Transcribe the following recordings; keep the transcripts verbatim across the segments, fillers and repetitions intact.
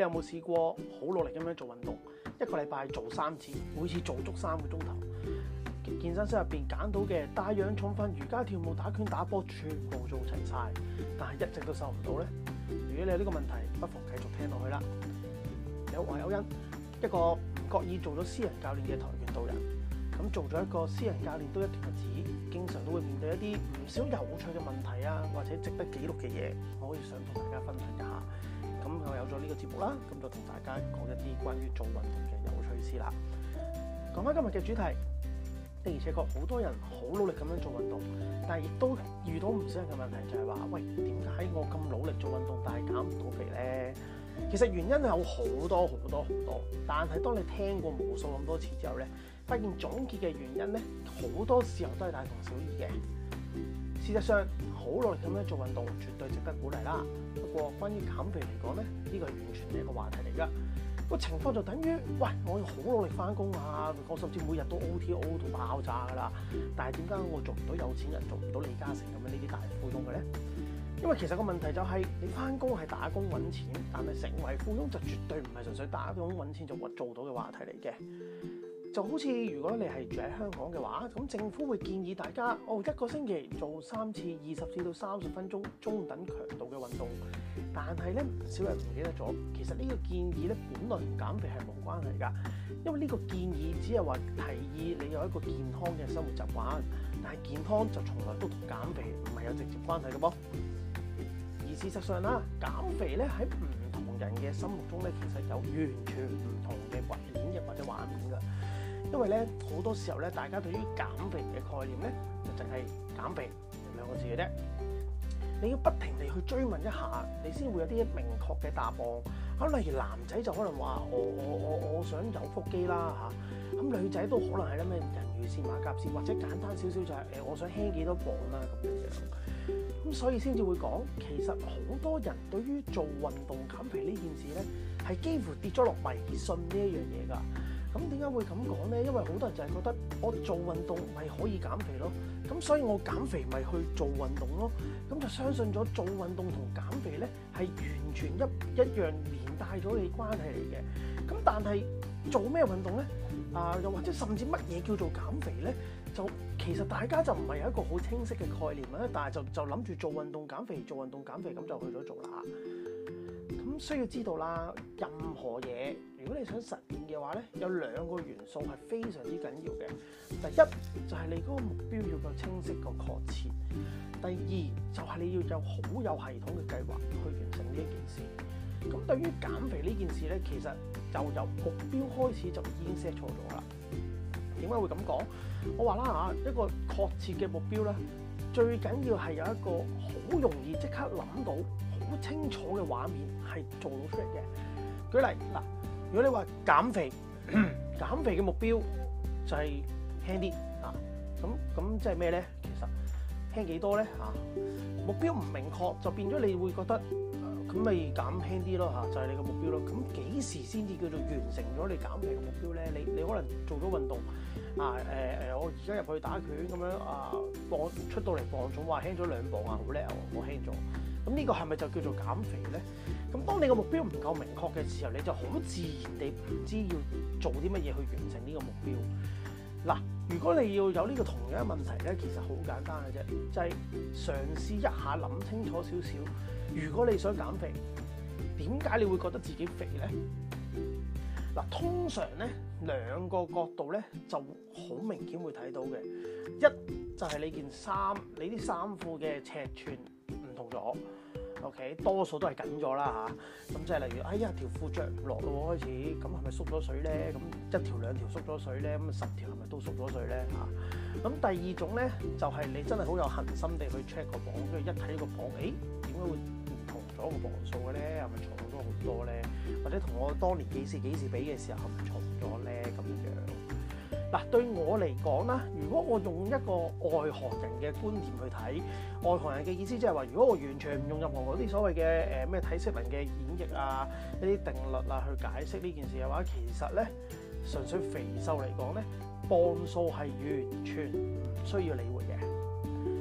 有冇試過好努力咁樣做運動，一個禮拜做三次，每次做足三個鐘頭，健身室入邊揀到嘅帶氧、重訓、瑜伽、跳舞、打拳、打波，全部做齊晒，但係一直都瘦唔到呢？如果你有呢個問題，不妨繼續聽落去啦。有我有恩，一個唔覺意做咗私人教練嘅跆拳道人，咁做咗一個私人教練都一段日子，經常都會面對一啲唔少有趣嘅問題啊，或者值得記錄嘅嘢，我可以想同大家分享一下。咁我有咗呢個節目啦，咁就同大家講一啲關於做運動嘅有趣事啦。講翻今日嘅主題，的而且確好多人好努力咁樣做運動，但係亦都遇到唔少人嘅問題，就係話：喂，點解我咁努力做運動，但係減唔到肥呢？其實原因係有好多好多好多，但係當你聽過無數咁多次之後咧，發現總結嘅原因咧，好多時候都係大同小異嘅。事實上，好努力咁樣做運動，絕對值得鼓勵啦。不過，關於減肥嚟講咧，呢個係完全係一個話題嚟㗎。個情況就等於，喂，我好努力翻工啊，我甚至每日都 O T O 到爆炸㗎啦。但係點解我做唔到有錢人，做唔到李嘉誠咁樣呢啲大富翁嘅咧？因為其實個問題就係、是、你翻工係打工揾錢，但係成為富翁就絕對唔係純粹打工揾錢就做到嘅話題嚟嘅。就好似如果你係住喺香港嘅話，咁政府會建議大家哦一個星期做三次二十至到三十分鐘中等強度嘅運動。但係咧唔少人唔記得咗，其實呢個建議咧本來同減肥係冇關係㗎，因為呢個建議只係話提議你有一個健康嘅生活習慣，但係健康就從來都同減肥唔係有直接關係嘅噃。而事實上啦，減肥咧喺唔同人嘅心目中咧，其實有完全唔同嘅演繹或者畫面㗎。因為咧好多時候咧，大家對於減肥嘅概念咧，就淨係減肥兩個字嘅啫。你要不停地去追問一下，你先會有啲明確嘅答案。咁例如男仔就可能話：我我我我想有腹肌啦嚇。咁女仔都可能係咧咩人魚線、馬甲線，或者簡單少少就係、是、誒我想輕幾多磅啦咁樣樣。咁所以先至會講，其實好多人對於做運動減肥呢件事咧，係幾乎跌咗落迷信呢一樣嘢㗎。咁點解會咁講咧？因為好多人就係覺得我做運動咪可以減肥咯，咁所以我減肥咪去做運動咯，咁就相信咗做運動同減肥咧係完全一一樣連帶咗嘅關係嚟嘅。咁但係做咩運動咧？啊，又或者甚至乜嘢叫做減肥咧？就其實大家就唔係有一個好清晰嘅概念啦，但係就就諗住做運動減肥，做運動減肥咁就去咗做啦。咁需要知道啦，任何嘢如果你想實現嘅話咧，有兩個元素係非常之緊要嘅。第一就係你嗰個目標要夠清晰、夠確切；第二就係你要有好有系統嘅計劃去完成呢一件事。咁對於減肥呢件事咧，其實就由目標開始就已經 set 錯咗啦。點解會咁講？我話啦嚇，一個確切嘅目標咧，最緊要係有一個好容易即刻諗到、好清楚嘅畫面係做到出嚟嘅。舉例嗱，如果你話減肥，減肥嘅目標就係輕啲啊，咁咁即係咩咧？其實輕幾多咧嚇？目標唔明確就變咗你會覺得咁咪減輕啲咯嚇，就係你個目標咯。咁幾時先至叫做完成咗你減肥嘅目標咧？你你可能做咗運動啊，誒、呃、誒，我而家入去打拳咁樣啊，磅出到嚟磅重話輕咗兩磅啊，好叻啊，我輕咗。咁呢個係咪就叫做減肥咧？咁當你個目標唔夠明確嘅時候，你就好自然地唔知要做啲乜嘢去完成呢個目標。嗱，如果你要有呢個同樣嘅問題咧，其實好簡單嘅啫，就係、是、嘗試一下諗清楚少少。如果你想減肥，點解你會覺得自己肥咧？嗱，通常咧兩個角度咧就好明顯會睇到嘅。一就係、是、你件衫，你啲衫褲嘅尺寸唔同咗。OK， 多數都係緊咗啦嚇。咁即係例如，哎呀條褲着唔落咯，開始咁係咪縮咗水咧？咁一條兩條縮咗水咧，咁十條係咪都縮咗水咧嚇？咁第二種咧就係、是、你真係好有恒心地去 check 個磅，跟住一睇個磅，誒點解會唔同咗個磅數嘅咧？係咪重咗好多咧？或者同我當年幾時幾時比嘅時候係咪重咗咧？咁樣嗱，對我嚟講啦，如果我用一個外行人嘅觀點去睇，外行人嘅意思即係話，如果我完全唔用任何嗰啲所謂嘅誒咩體適能嘅演繹啊、一啲定律啊去解釋呢件事嘅話，其實咧純粹肥瘦嚟講咧，磅數係完全唔需要理會嘅。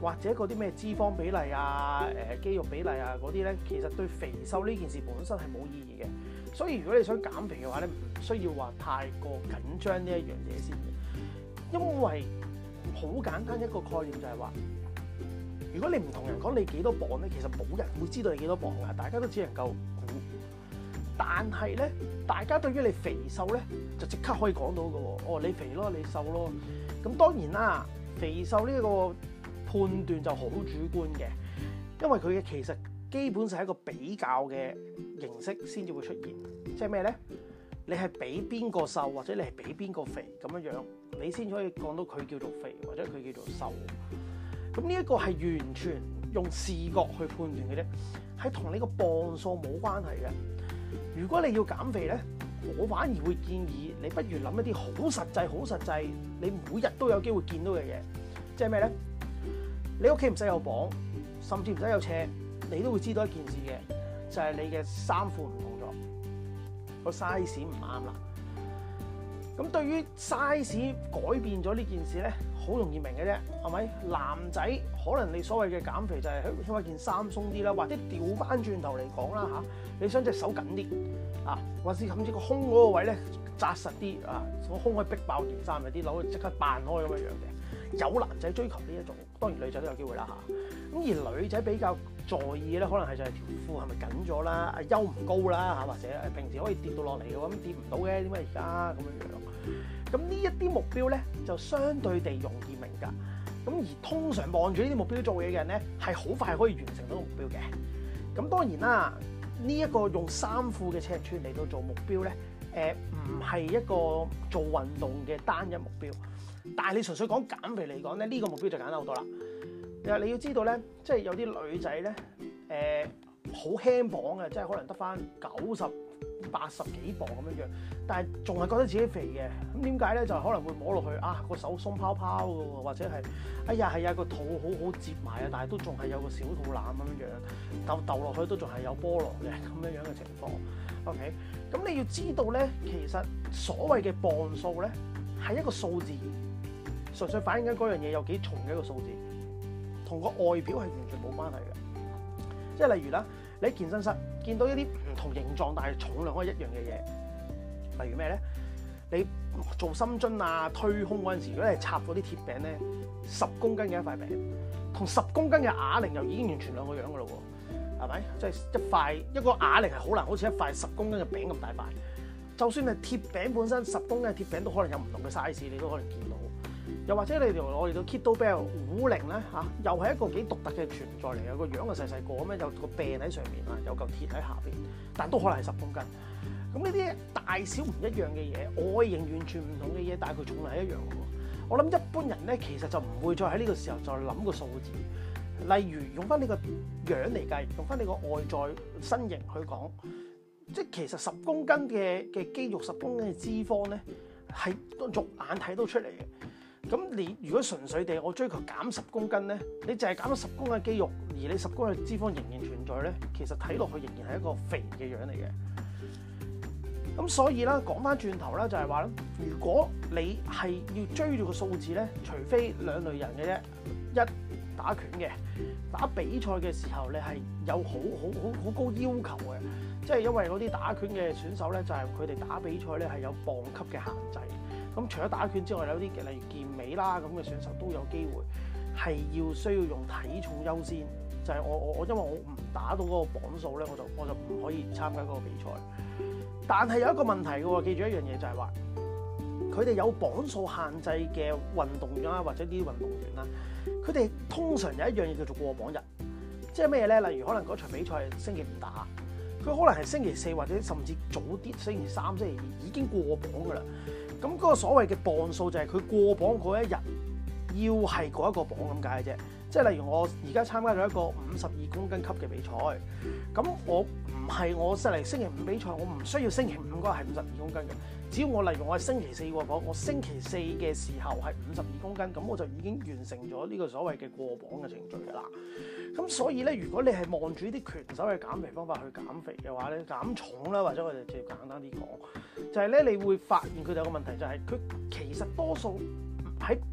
或者嗰啲咩脂肪比例啊、誒、呃、肌肉比例啊嗰啲咧，其實對肥瘦呢件事本身係冇意義嘅。所以如果你想減肥嘅話咧，唔需要話太過緊張呢一樣嘢先嘅，因為好簡單一個概念就係話，如果你唔同人講你幾多磅咧，其實冇人會知道你幾多磅㗎，大家都只能夠估。但係咧，大家對於你肥瘦咧，就即刻可以講到㗎喎。哦，你肥咯，你瘦咯。咁當然啦，肥瘦呢個判斷就好主觀嘅，因為佢嘅其實基本上係一個比較嘅形式先至會出現。即係咩咧？你係比邊個瘦，或者你係比邊個肥咁樣樣，你先可以講到佢叫做肥，或者佢叫做瘦。咁呢一個係完全用視覺去判斷嘅啫，係同你個磅數冇關係嘅。如果你要減肥咧，我反而會建議你不如諗一啲好實際、好實際，你每日都有機會見到嘅嘢。即係咩咧？你屋企唔使有磅，甚至唔使有尺，你都會知道一件事嘅，就係你嘅衫褲唔同咗，個 size 唔啱啦。咁對於 size 改變咗呢件事咧，好容易明嘅啫，係咪？男仔可能你所謂嘅減肥就係希望件衫鬆啲啦，或者調翻轉頭嚟講啦嚇，你想隻手緊啲啊，或是甚至個胸嗰個位咧紮實啲啊，個胸可以逼爆件衫，有啲佬即刻扮開咁樣樣嘅。有男仔追求呢一種，當然女仔都有機會啦嚇。咁而女仔比較在意咧，可能係就係條褲係咪緊咗啦，啊腰唔高啦嚇，或者平時可以跌到落嚟嘅，咁跌唔到嘅，點解而家咁樣樣？咁呢一啲目標咧，就相對地容易明㗎。咁而通常望住呢啲目標做嘢嘅人咧，係好快可以完成到個目標嘅。咁當然啦，呢、這、一個用衫褲嘅尺寸嚟到做目標咧，誒唔係一個做運動嘅單一目標。但係你純粹講減肥嚟講咧，呢、這個目標就簡單好多啦。你要知道咧，即係有啲女仔咧，誒好輕磅嘅，即係可能得翻九十、八十幾磅咁樣樣，但係仲係覺得自己肥嘅。咁點解咧？就可能會摸落去啊，個手鬆泡泡嘅喎，或者係哎呀係啊個肚好好摺埋啊，但係都仲係有個小肚腩咁樣樣，竇竇落去都仲係有菠蘿嘅咁樣樣嘅情況。OK，咁你要知道咧，其實所謂嘅磅數咧係一個數字，純粹反映緊嗰樣嘢有幾重嘅一個數字，同個外表係完全冇關係嘅。即係例如啦，你喺健身室見到一啲唔同形狀但係重量可以一樣嘅嘢，例如咩咧？你做深蹲啊、推胸嗰陣時，如果你係插嗰啲鐵餅咧，十公斤嘅一塊餅，同十公斤嘅啞鈴又已經完全兩個樣噶咯喎，係咪？即係一塊一個啞鈴係好難，好似一塊十公斤嘅餅咁大塊。就算係鐵餅本身十公斤嘅鐵餅，都可能有唔同嘅 size，你都可能見到。又或者你哋我哋到 kettlebell 啞鈴咧嚇，又係一個幾獨特嘅存在嚟嘅，個樣就細細個咁樣，有個柄喺上面啊，有嚿鐵喺下邊，但都可能係十公斤。咁呢啲大小唔一樣嘅嘢，外形完全唔同嘅嘢，但係佢重量係一樣嘅喎。我諗一般人咧，其實就唔會再喺呢個時候再諗個數字。例如用翻呢個樣嚟計，用翻你個外在身形去講，即係其實十公斤嘅嘅肌肉、十公斤嘅脂肪咧，係肉眼睇到出嚟嘅。咁你如果純粹地我追求減十公斤咧，你淨係減咗十公斤嘅肌肉，而你十公斤嘅脂肪仍然存在咧，其實睇落去仍然係一個肥嘅樣嚟嘅。咁所以啦，講翻轉頭啦，就係話咧，如果你係要追住個數字咧，除非兩類人嘅啫，一打拳嘅打比賽嘅時候，你係有好好好好高要求嘅，即係因為嗰啲打拳嘅選手咧，就係佢哋打比賽咧係有磅級嘅限制。咁除咗打拳之外，有啲嘅例如健美啦咁嘅選手都有機會係要需要用體重優先，就係、是、我我我因為我唔打到嗰個磅數咧，我就我就唔可以參加嗰個比賽。但係有一個問題嘅喎，記住一樣嘢就係話，佢哋有磅數限制嘅運動員啦，或者啲運動員啦，佢哋通常有一樣嘢叫做過磅日，即係咩咧？例如可能嗰場比賽係星期五打，佢可能係星期四或者甚至早啲星期三、星期二已經過磅㗎啦。咁嗰個所謂嘅磅數就係佢過磅嗰一日要係嗰一個磅咁解嘅啫。即係例如我而家參加咗一個五十二公斤級嘅比賽，咁我唔係我即係星期五比賽，我唔需要星期五嗰個係五十二公斤嘅。只要我例如我係星期四過磅，我星期四嘅時候係五十二公斤，咁我就已經完成咗呢個所謂嘅過磅嘅程序㗎啦。咁所以咧，如果你係望住呢啲拳手嘅減肥方法去減肥嘅話咧，減重啦，或者我哋直接簡單啲講，就係咧，你會發現佢哋有個問題，就係佢其實多數喺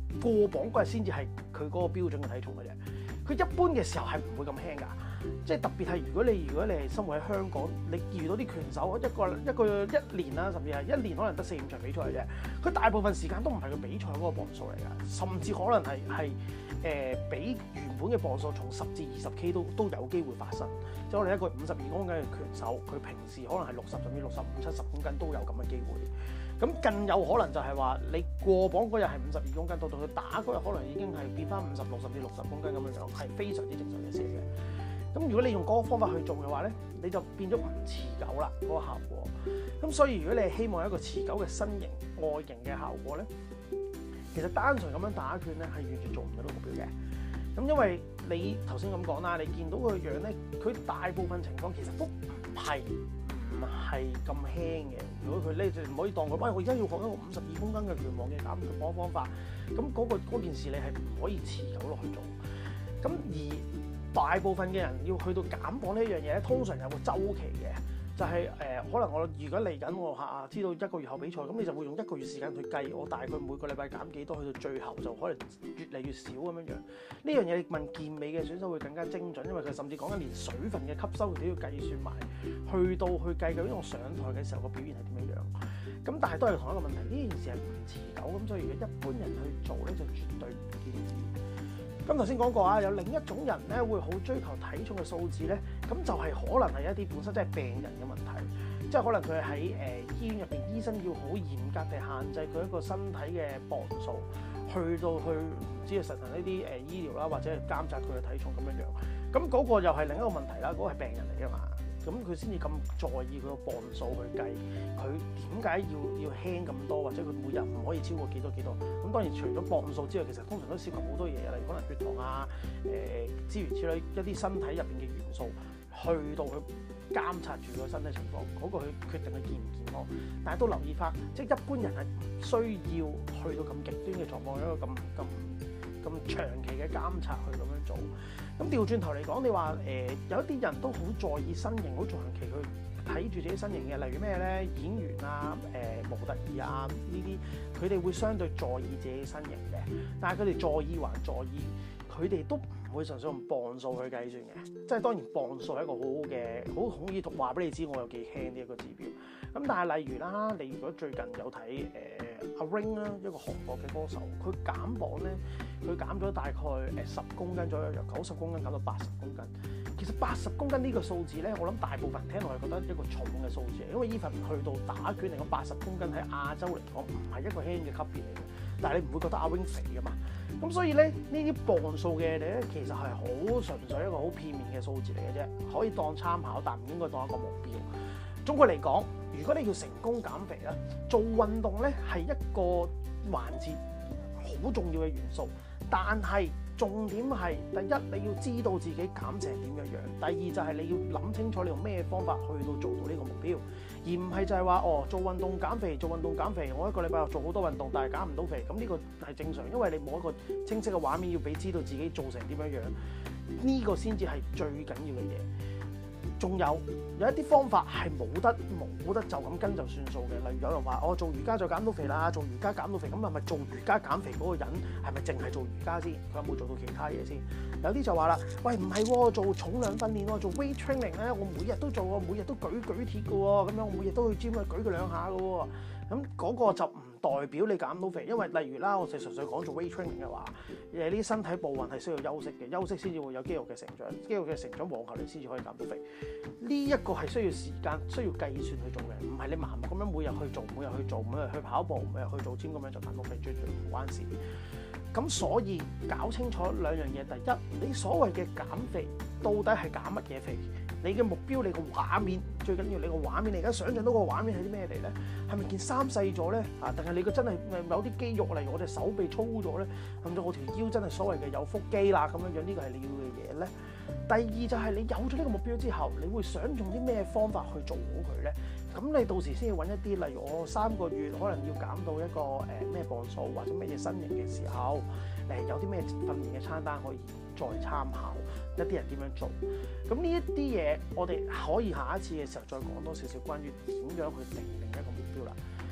過磅嗰日先至係佢嗰個標準嘅體重嘅啫。佢一般嘅時候係唔會咁輕㗎。即係特別係如果你如果你係生活喺香港，你遇到啲拳手一個一個一年啦，甚至係一年可能得四五場比賽嘅啫。佢大部分時間都唔係佢比賽嗰個磅數嚟㗎，甚至可能係係誒比原本嘅磅數從十至二十 K 都都有機會發生。即係我哋一個五十二公斤嘅拳手，佢平時可能係六十甚至六十五、七十公斤都有咁嘅機會。咁更有可能就係話你過磅嗰日係五十二公斤，到到佢打嗰日可能已經係變翻五十六甚至六十公斤咁樣樣，係非常之正常嘅事嘅。咁如果你用嗰個方法去做嘅話咧，你就變咗唔持久啦嗰個效果。咁所以如果你係希望有一個持久嘅身形外形嘅效果咧，其實單純咁樣打拳咧係完全做唔到呢個目標嘅。咁因為你頭先咁講啦，你見到佢個樣咧，佢大部分情況其實都唔係唔係咁輕嘅。如果佢咧就唔可以當佢，喂，我而家要學一個五十二公斤嘅拳王嘅減磅方法，咁嗰、嗰個件事你係唔可以持久落去做。咁而大部分嘅人要去到減磅呢一樣嘢咧，通常有個週期嘅，就係、是、誒、呃、可能我如果嚟緊我嚇知道一個月後比賽，咁你就會用一個月時間去計，我大概每個禮拜減幾多，去到最後就可能越嚟越少咁樣樣。呢樣嘢你問健美嘅選手會更加精準，因為佢甚至講緊連水分嘅吸收佢都要計算埋，去到去計究竟我上台嘅時候個表現係點樣樣。咁但係都係同一個問題，呢件事係唔持久，咁所以如果一般人去做咧，就絕對唔建議。咁頭先講過啊，有另一種人咧會好追求體重嘅數字咧，咁就係可能係一啲本身即係病人嘅問題，即係可能佢喺誒醫院入邊，醫生要好嚴格地限制佢一個身體嘅磅數，去到去唔知係實行呢啲誒醫療啦，或者係監察佢嘅體重咁樣樣。咁嗰個又係另一個問題啦，嗰、嗰個係病人嚟㗎嘛。咁佢先至咁在意佢個磅數去計，佢點解要要輕咁多，或者佢每日唔可以超過幾多幾多？咁當然除咗磅數之外，其實通常都涉及好多嘢，例如可能血糖啊、誒諸如此類一啲身體入邊嘅元素，去到去監察住個身體情況，嗰、嗰個去決定佢健唔健康。但係都留意翻，即係一般人係唔需要去到咁極端嘅狀況，一個咁咁咁長期嘅監察去咁樣做。咁調轉頭嚟講，你話誒、呃、有一啲人都好在意身形，好長期去睇住自己身形嘅，例如咩咧？演員啊、誒、呃、模特兒啊呢啲，佢哋會相對在意自己身形嘅，但係佢哋在意還在意，佢哋都唔會純粹用磅數去計算嘅。即係當然磅數係一個好好嘅，好好易話俾你知我有幾輕呢一個指標。咁但係例如啦，你如果最近有睇誒阿 Ring 啦，一個韓國嘅歌手，佢減磅咧，佢減咗大概誒十公斤左右，由九十公斤減到八十公斤。其實八十公斤呢個數字咧，我諗大部分人聽落係覺得一個重嘅數字，因為 even 去到打拳嚟講，八十公斤喺亞洲嚟講唔係一個輕嘅級別嚟嘅。但係你唔會覺得阿 Ring 肥㗎嘛？咁所以咧，呢啲磅數嘅嘢咧，其實係好純粹一個好片面嘅數字嚟嘅啫，可以當參考，但唔應該當一個目標。總括嚟講，如果你要成功減肥咧，做運動咧係一個環節好重要嘅元素，但係重點係第一你要知道自己減成點樣樣，第二就係你要諗清楚你用咩方法去到做到呢個目標，而唔係就係話哦做運動減肥，做運動減肥，我一個禮拜做好多運動，但係減唔到肥，咁呢個係正常，因為你冇一個清晰嘅畫面要俾知道自己做成點樣樣，呢個先至係最緊要嘅嘢。仲有有一啲方法係冇得冇得就咁跟就算數嘅，例如有人話我、哦、做瑜伽就減到肥啦，做瑜伽減到肥，咁係咪做瑜伽減肥嗰個人係咪淨係做瑜伽先？佢有冇做到其他嘢先？有啲就話啦，喂唔係喎，做重量訓練喎，做 weight training 咧，我每日都做喎，每日都舉舉鐵嘅喎，咁樣我每日都去 gym 去舉佢兩下嘅喎，咁嗰個就唔代表你減到肥，因為例如啦，我哋純粹講做 weight training 嘅話，誒呢啲身體部位係需要休息嘅，休息先至會有肌肉嘅成長，肌肉嘅成長往後你先至可以減到肥。呢一個係需要時間、需要計算去做嘅，唔係你盲目咁樣每日去做、每日去做、每日去跑步、每日去做 gym 咁樣就減到肥，絕對唔關事。咁所以搞清楚兩樣嘢，第一，你所謂嘅減肥到底係減乜嘢肥？你嘅目標，你個畫面最緊要，你個畫面，你而家想象到個畫面係啲咩嚟咧？係咪件衫細咗咧？啊，定係你個真係有啲肌肉，例如我隻手臂粗咗咧，甚至我條腰真係所謂嘅有腹肌啦咁樣樣，呢個係你要嘅嘢咧。第二就係你有咗呢個目標之後，你會想用啲咩方法去做好佢咧？咁你到時先要揾一啲，例如我三個月可能要減到一個誒咩磅數或者乜嘢身形嘅時候，誒有啲咩訓練嘅餐單可以再參考，一啲人點樣做。咁呢一啲嘢，我哋可以下一次嘅時候再講多少少關於點樣去定定一個目標啦。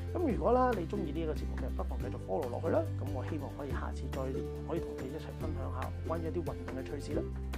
咁如果啦你中意呢一個節目嘅，不妨繼續 follow 落去啦。咁我希望可以下次再可以同你一齊分享下關於一啲運動嘅趣事啦。